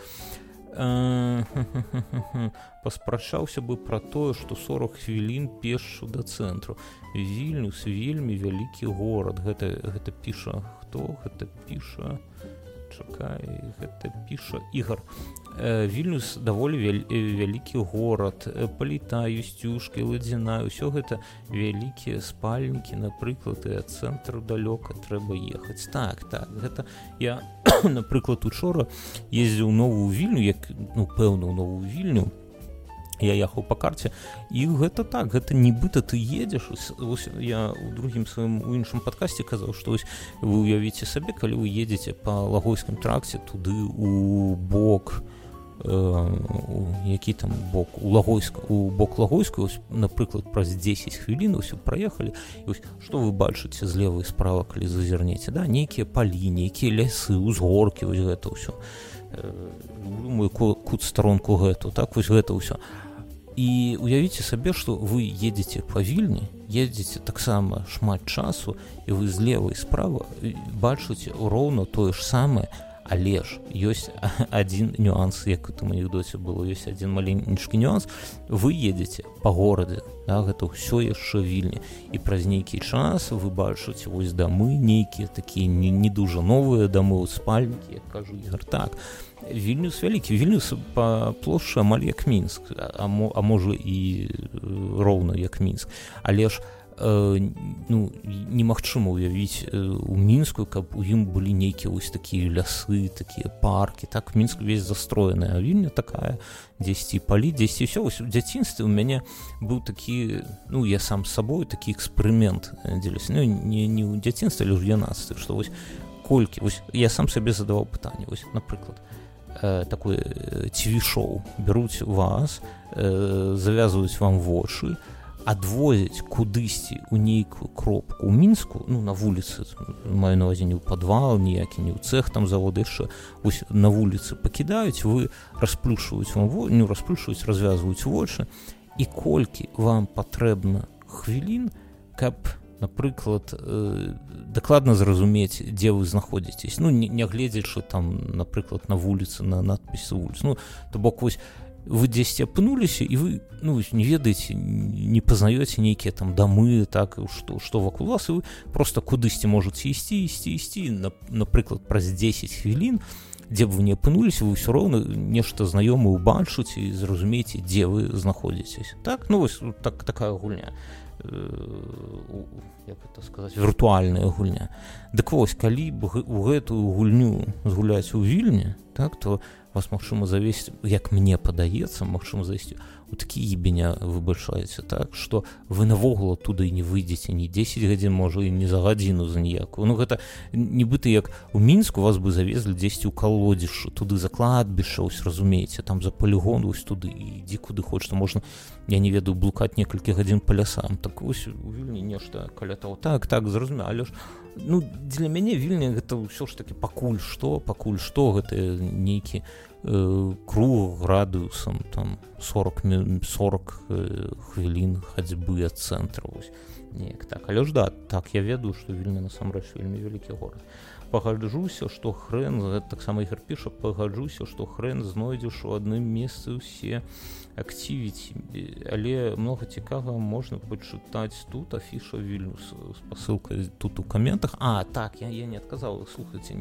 Паспрачаўся бы пра тое, што 40 хвілін пешшу да цэнтру. Вільнюс вельмі вялікі горад. Гэта піша хто? Гэта піша чакай, гэта піша Ігор. Вільнюс даволі вялікі горад, Паліта, Юсцюшка, Ладзіна, ўсё гэта вялікія спальнікі, напрыклад, і ад цэнтру далёка трэба ехаць. Так, гэта я, напрыклад, учора ездзіў у Новую Вільню, пэўна, у Новую Вільню, я ехаў па карце, і гэта так, гэта нібыта ты едзеш. Вось я ў другім сваім у іншым падкасці казаў, што вось вы уявіце сабе, калі вы едзеце па Лагойскім тракце туды у бок, які там бок, у бок Лагойскую, напрыклад, праз 10 хвілін ўсё праехалі, і вось што вы бачыце злева і справа, калі зазірнеце, да, нейкія палі, нейкія лясы, узгоркі, вось гэта ўсё. Люблю мой кут старонку гэту, так, вось гэта ўсё. І уявіце сабе, што вы едзеце па Вільні, едзеце таксама шмат часу, і вы злева і справа бачыце роўна тое ж самае, але ж ёсць адзін нюанс, як у тым анекдоце было, ёсць адзін маленькі нюанс. Вы едзеце па горадзе, да, гэта ўсё яшчэ Вільня, і праз нейкі час вы бачыце вось дамы нейкія такія не дужа новыя дамы, спальнікі, як кажу Ігор. Так, Вільнюс вялікі, Вільнюс па плошчы амаль як Мінск, а можа і роўна як Мінск, але ж немагчыма ўявіць у Мінску, каб у ім былі нейкія вось такія лясы, такія паркі, так, Мінск увесь застроены, а Вільня такая, дзесьці палі, дзесьці ўсё. Вось у дзяцінстве у мяне быў такі, я сам з сабой такі эксперымент дзелясь, не ў дзяцінстве, але ў юнацтве, што вось колькі, вось я сам сабе задаваў пытанне, вось, напрыклад, такое ТВ-шоу, бяруць вас, завязваюць вам вочы, адвозяць кудысьці ў нейкую кропку ў Мінску, на вуліцы, маю на ўвазе не ў падвал, ніякі, не ў цэх там заводы яшчэ, вось на вуліцы пакідаюць, вы расплюшваюць вам развязваюць вочы, і колькі вам патрэбна хвілін, каб, напрыклад, дакладна зразумець, дзе вы знаходзіцесь, не гледзячы там, напрыклад, на вуліцы, на надпісы вуліц, то бок вось вы дзесьці апынуліся, і вы не ведаеце, не пазнаёце нейкія там дамы, так, што вакол вас, і вы проста кудысьці можаце ісці, напрыклад, праз 10 хвілін, дзе б вы не апынуліся, вы ўсё роўна нешта знаёмае убачыце і зразумееце, дзе вы знаходзіцесь. Так, вось такая гульня, як гэта сказаць, віртуальная гульня. Дык вось, калі б у гэтую гульню згуляць у Вільні, так, то вас, магчыма, завесці, як мне падаецца, магчыма, завесці у такі ебеня выбачаеце, так, што вы навогул туды не выйдзеце ні 10 гадзін, можа, і не за гадзіну за ніякую. Гэта нібыта як у Мінску вас бы завезлі дзесьці ў калодзішчы, туды за кладбішча, ось, разумееце, там за полігон, ось туды, ідзі куды хочаш, можна, я не ведаю, блукаць некалькі гадзін па лясам. Так вось у Вільні нешта каля таго. Так, зразумела, але ж для мяне Вільня гэта ўсё ж такі пакуль што гэта нейкі круг радыусам там 40 хвілін хадзьбы ад цэнтра, вось неяк так. Але ж да, так, я ведаю, што Вільня насамрэч вельмі вялікі горад. Пагаджуся, што хрэн, таксама Ігор піша, пагаджуся, што хрэн знойдзеш у адным месцы ўсе активіці, але многа цікавага можна пачытаць тут, афіша Вільнюс з пасылкай тут у каментах. Так, я не адказаў, слухайце,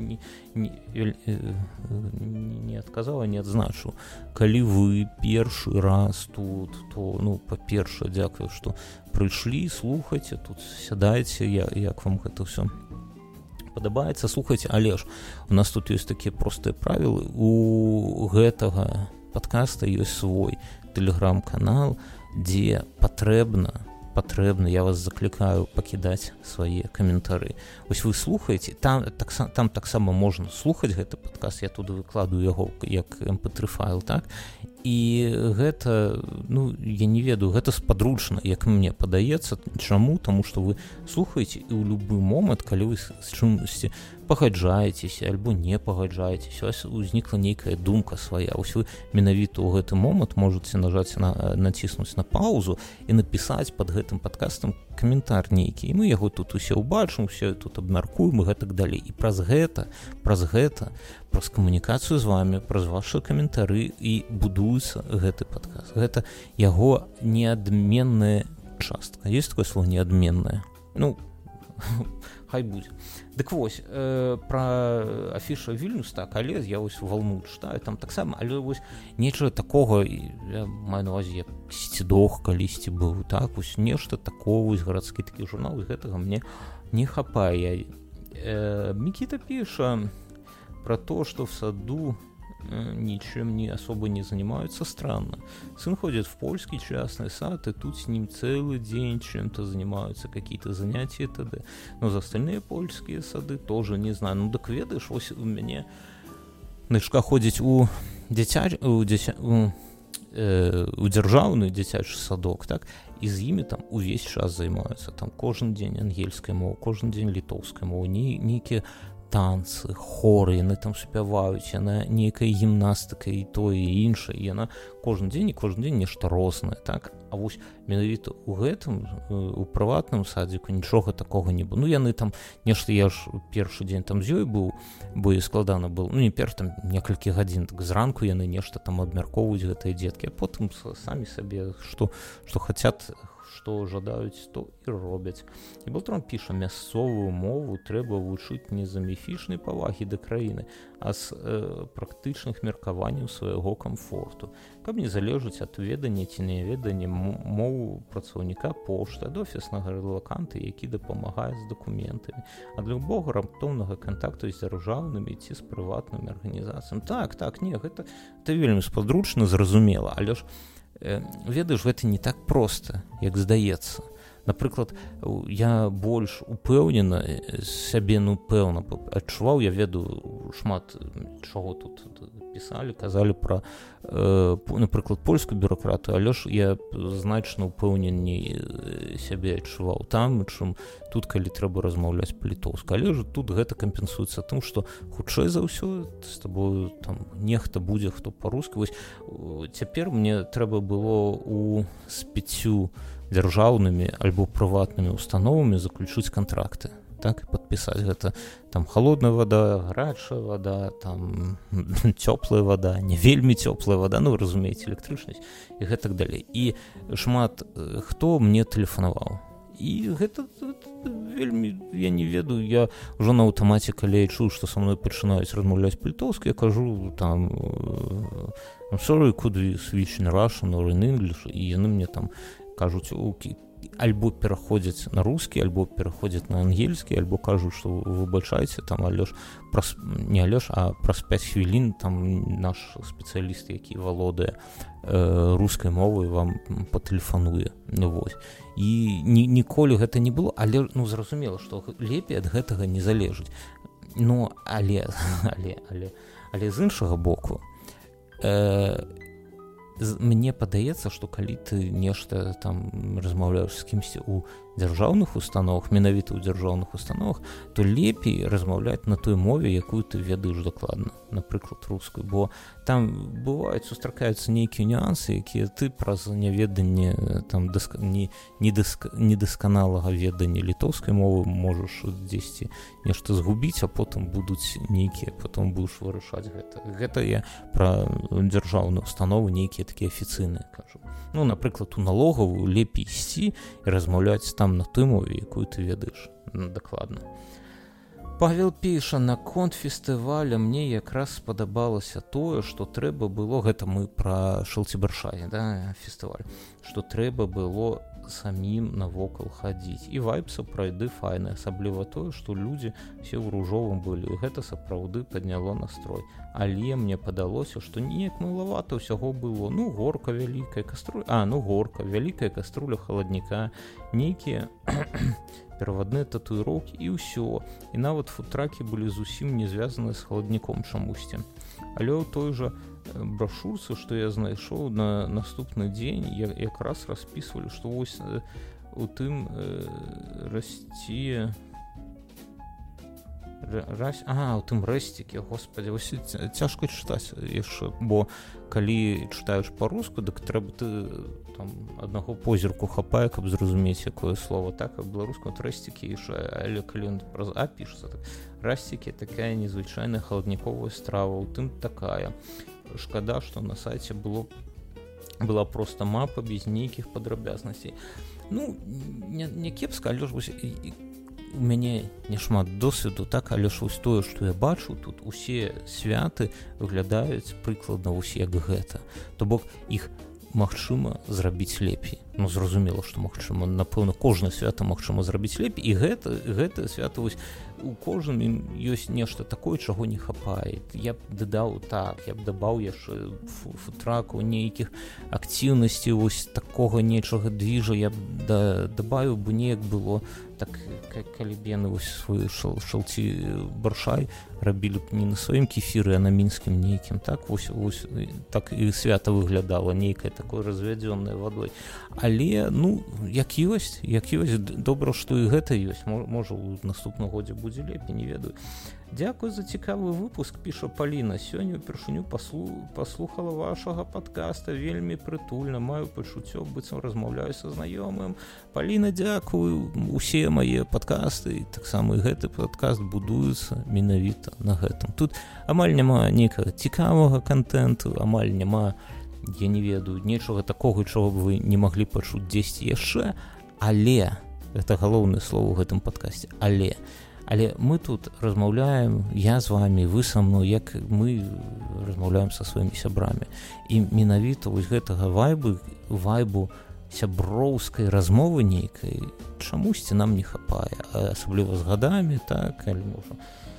не адказаў, не адзначыў. Калі вы першы раз тут, то, па-першае, дзякую, што прыйшлі, слухайце, тут сядайце, як вам гэта ўсё падабаецца, слухайце, але ж у нас тут ёсць такія простыя правілы, у гэтага падкаста ёсць свой тэлеграм-канал, дзе патрэбна, я вас заклікаю пакідаць свае каментары. Вось вы слухаеце, там таксама можна слухаць гэты падкаст, я туды выкладу яго як mp3 файл, так, і гэта, я не ведаю, гэта спадручна, як мне падаецца. Чаму? Таму што вы слухаеце, і ў любы момант, калі вы з чымсьці пагаджаецеся альбо не пагаджаецеся, у вас узнікла нейкая думка свая, вось вы менавіта ў гэты момант можаце націснуць на паузу і напісаць пад гэтым падкастам каментар нейкі, і мы яго тут усе ўбачым, усе тут абмяркуем і гэтак далей. І праз камунікацыю з вами, праз вашы каментары і будуецца гэты падкаст. Гэта яго неадменная частка. Ёсць такое слово неадменная? хай будзе. Дык вось пра афіша Вільнюс, так, але я вось валну чытаю там таксама, але вось нечага такога, я маю на ўвазе, як Сцідох калісьці быў, так, вось нешта такого, вось гарадскі такі журнал, і гэтага мне не хапае. Мікіта піша про то, что в саду ничем не особо не занимаются, странно. Сын ходит в польский частный сад, и тут с ним целый день чем-то занимаются, какие-то занятия и т.д. Но за остальные польские сады тоже не знаю. Ну, так ведаешь, ось у меня дочка ходить у дзяржаўны дзіцячы садок, так, і з імі там увесь час займаюцца, там кожны дзень ангельская мова, кожны дзень літоўская мова, нейкія танцы, хоры, яны там спяваюць, яна нейкая гімнастыка і тое і іншае, і яна кожны дзень нешта рознае, так. А вось менавіта ў гэтым, у прыватным садзіку нічога такога не было. Ну, яны там нешта, я ж першы дзень там з ёй быў, бо і складана было, ну, не перш там некалькі гадзін, так зранку яны нешта там абмяркоўваюць гэтыя дзеткі, а потым самі сабе, што хацят, што жадаюць, то і робяць. І Балтрон піша, мясцовую мову трэба вучыць не з-за міфічнай павагі да краіны, а з практычных меркаванняў свайго камфорту, каб не залежыць ад ведання ці няведання мову працаўніка пошты, ад офіснага рэлаканта, які дапамагае з дакументамі, ад любога раптоўнага кантакту з дзяржаўнымі ці з прыватнымі арганізацыямі. Так, не, гэта вельмі спадручна, зразумела, але ж ведаеш, гэта не так проста, як здаецца. Напрыклад, я больш упэўнена сябе, ну, пэўна адчуваў, я ведаю шмат чаго тут пісалі, казалі пра, напрыклад, польскую бюракратыю, але ж я значна упэўненей сябе адчуваў там, чым тут, калі трэба размаўляць па-літоўску. Але ж тут гэта кампенсуецца тым, што хутчэй за ўсё з табою там нехта будзе, хто па-руску. Вось цяпер мне трэба было з 5 дзяржаўнымі альбо прыватнымі установамі заключыць кантракты, так, і падпісаць гэта там халодная вада, гарачая вада, там цёплая вада, не вельмі цёплая вада, ну, вы разумееце, электрычнасць і гэтак далей. І шмат хто мне тэлефанаваў. І гэта вельмі, я не ведаю, я ўжо на аўтамаце, калі я чую, што са мной пачынаюць размаўляць па-літоўску, я кажу там I'm sorry, could we switch in Russian or in English, і яны мне там кажуць, альбо пераходзяць на рускі, альбо пераходзяць на ангельскі, альбо кажуць, што выбачайце, там, праз 5 хвілін там наш спецыяліст, які валодае рускай мовай, вам патэлефануе. Ну, вось. І ніколі гэта не было, але, ну, зразумела, што лепей ад гэтага не залежыць. Ну, але з іншага боку, мне падаецца, што калі ты нешта там размаўляеш з кімсьці ў дзяржаўных установах, менавіта ў дзяржаўных установах, то лепей размаўляць на той мове, якую ты ведаеш дакладна, напрыклад, рускую, бо там бываюць, сустракаюцца нейкія нюансы, якія ты праз няведанне там недасканалага ведання літоўскай мовы можаш дзесьці нешта згубіць, а потым будуць нейкія, потым будаш вырашаць гэта. Гэта я пра дзяржаўную установу, нейкія такія афіцыйныя кажу. Ну, напрыклад, у налогавую лепей ісці і размаўляць там на той мове, якую ты ведаеш дакладна. Павел піша, наконт фестываля мне якраз спадабалася тое, што трэба было, гэта мы пра Шалцібаршай, да, фестываль, што трэба было самім навокал хадзіць. І вайб сапраўды файны, асабліва тое, што людзі все ў ружовым былі, і гэта сапраўды падняло настрой. Але мне падалося, што неяк малавата ўсяго было. Ну, горка, вялікая каструля, вялікая каструля халадніка, нейкія перавадныя татуіроўкі і ўсё. І нават футракі былі зусім не звязаныя з халадніком чамусьці. Але ў той жа брашурцы, што я знайшоў на наступны дзень, якраз распісвалі, што вось у тым расце... у тым рэсцікі, господи, вось цяжка чытаць яшчэ, бо калі чытаеш па-руску, дык трэба ты там аднаго позірку хапае, каб зразумець, якое слово, так, а беларускам рэсцікі яшчэ, але калі ён праз А пішацца, так, рэсцікі такая незвычайная халадніковая страва, у тым такая. Шкада, што на сайце была проста мапа без нейкіх падрабязнасцей. Ну, не кепска, але ж вось у мяне няшмат досведу, так, але ж вось тое, што я бачу, тут усе святы выглядаюць прыкладна вось як гэта. То бок іх магчыма зрабіць лепей. Ну, зразумела, што магчыма, напэўна, кожнае свята магчыма зрабіць лепей, і гэта свята вось у кожным ёсць нешта такое, чаго не хапае. Я б дадаў так, я б дабаў яшчэ футракаў, нейкіх актыўнасцей, вось такога нечага двіжа я б дабавіў бы неяк было, так, калі б яны вось свой шалці баршай рабілі б не на сваім кефіры, а на мінскім нейкім, так, вось так і свята выглядала, нейкае такое развядзёнае вадой. Але, ну, як ёсць, добра, што і гэта ёсць. Можа, у наступным годзе будзе лепей, не ведаю. Дзякуй за цікавы выпуск, піша Паліна. Сёння ўпершыню паслухала вашага падкаста, вельмі прытульна, маю пачуццё, быццам размаўляю са знаёмым. Паліна, дзякую. Усе мае падкасты, таксама і гэты падкаст будуецца менавіта на гэтым. Тут амаль няма нейкага цікавага кантэнту, амаль няма, я не ведаю, нечага такога, чаго б вы не маглі пачуць дзесьці яшчэ, але, гэта галоўнае слово ў гэтым падкасце, але мы тут размаўляем, я з вамі, вы са мной, як мы размаўляем са сваімі сябрамі. І менавіта вось гэтага вайбу сяброўскай размовы нейкай чамусьці нам не хапае, асабліва з гадамі, так, калі можа.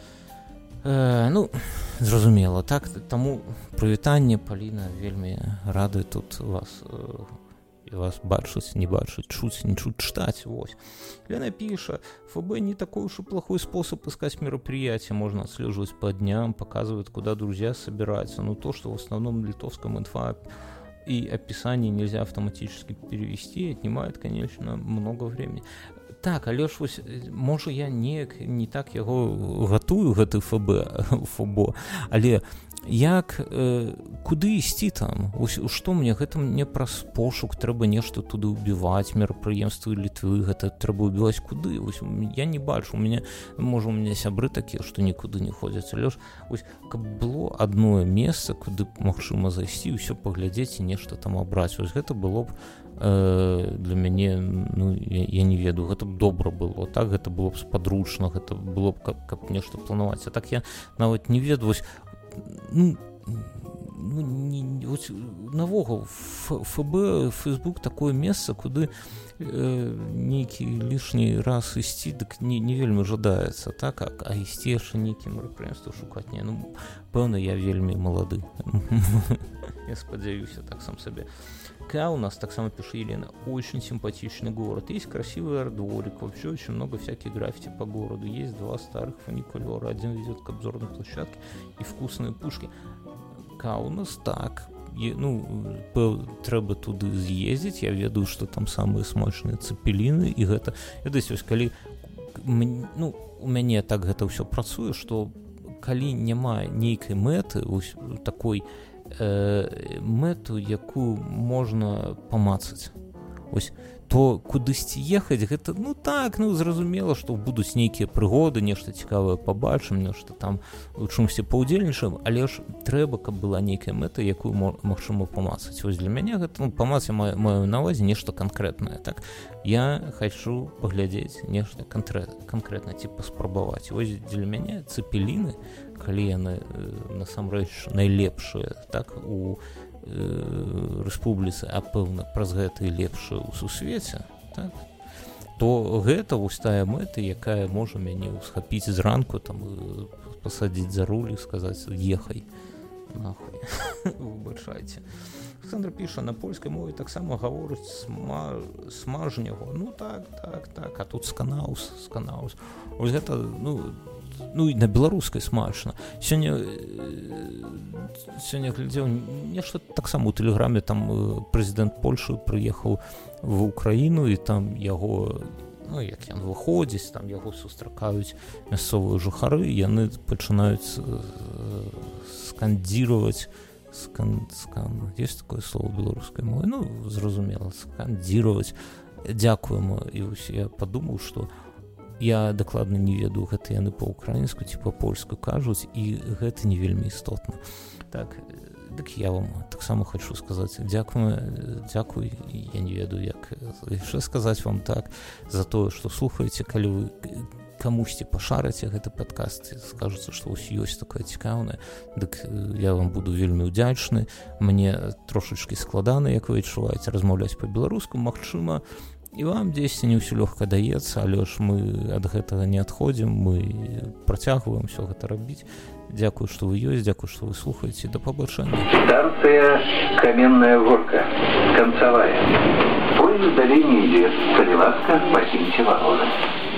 Ну, зразумела, так, таму прывітанне, Паліна, вельмі рады тут вас бачыць, не бачыць, чуць, не чуць, читать, вось. Лена пиша, ФБ не такой уж и плохой способ искать мероприятия, можно отслеживать по дням, показывает, куда друзья собираются, но то, что в основном литовском инфа и описании нельзя автоматически перевести, отнимает, конечно, много времени. Так, але ж вось, можа, я не так яго гатую, гэты ФБ, але як, куды ісці там? Што мне? Гэта мне праз пошук, трэба нешта туды ўбіваць, мерапрыемствы Літвы, гэта трэба ўбіваць куды? Вось, я не бачу, у меня сябры такія, што нікуды не ходзяць, але ж, вось, каб было адно месца, куды магчыма зайсці, ўсё паглядзець і нешта там абраць, вось гэта было б для мяне, ну, я не ведаю, гэта б добра было, так, гэта было б спадручна, гэта было б, каб нешта планаваць, а так я нават не ведаю, вось, навогул ФБ, Фейсбук такое месца, куды нейкі лішні раз ісці, дык не вельмі жадаецца, так, а ісці яшчэ нейкі мерапрыемства шукаць, не, ну, пэўна, я вельмі малады, я спадзяюся, так сам сабе. У нас, так само пишет Елена, очень симпатичный город, есть красивый арт-дворик, вообще очень много всяких граффити по городу, есть 2 старых фуникулера, один ведет к обзорной площадке и вкусные пушки. У нас так, ну, трэба туды з'ездзіць, я ведаю, што там самыя смачныя цепеліны, і гэта, вось, калі, ну, у мяне так гэта ўсё працуе, што калі няма нейкай мэты, вось такой мэту, якую можна памацаць, ось, то кудысьці ехаць, гэта, ну так, ну зразумела, што будуць нейкія прыгоды, нешта цікавае пабачым, нешта там у чымсьці паўдзельнічаем, але ж трэба, каб была нейкая мэта, якую магчыма памацаць. Вось для мяне гэта, ну, памацаць маю на ўвазе нешта канкрэтнае, так. Я хачу паглядзець нешта канкрэтна, типа спрабаваць. Вось для мяне цепеліны, калі яны насамрэч найлепшыя, так, у рэспубліцы, а пэўна праз гэта і лепшая ў сусвеце, так, то гэта вось тая мэта, якая можа мяне ўсхапіць зранку, там, пасадзіць за руль і сказаць, ехай нахуй, выбачайце. Александр піша, на польскай мове таксама гаворыць смажняго, ну так, а тут сканаус, вось гэта, ну і на беларускай смачна. Сёння глядзеў нешта таксама ў тэлеграме, там прэзідэнт Польшы прыехаў в Украіну, і там яго, ну, як ён выходзіць, там яго сустракаюць мясцовыя жыхары, яны пачынаюць скандзіраваць, есть такое слово беларускай мовы, ну, зразумела, скандзіраваць, дзякуем, і я падумаў, што я дакладна не ведаю, гэта яны па-украінску ці па-польску кажуць, і гэта не вельмі істотна. Так, Дык я вам таксама хочу сказаць дзякуй, я не ведаю, як яшчэ сказаць вам так, за тое, што слухаеце, калі вы камусьці пашараце гэты падкаст, скажаце, што вось ёсць такое цікаўнае, дык я вам буду вельмі ўдзячны. Мне трошачкі складана, як вы адчуваеце, размаўляць па-беларуску, магчыма, і вам дзесьці не ўсё лёгка даецца, але ж мы ад гэтага не адходзім, мы працягваем усё гэта рабіць. Дзякую, што вы ёсць, дзякую, што вы слухаеце, да пабачэння. Станция Каменная Горка, концевая. Поезд до линии идет. Цареватка, покиньте вагоны.